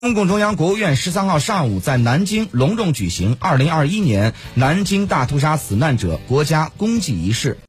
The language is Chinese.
中共中央、国务院13号上午在南京隆重举行2021年南京大屠杀死难者国家公祭仪式。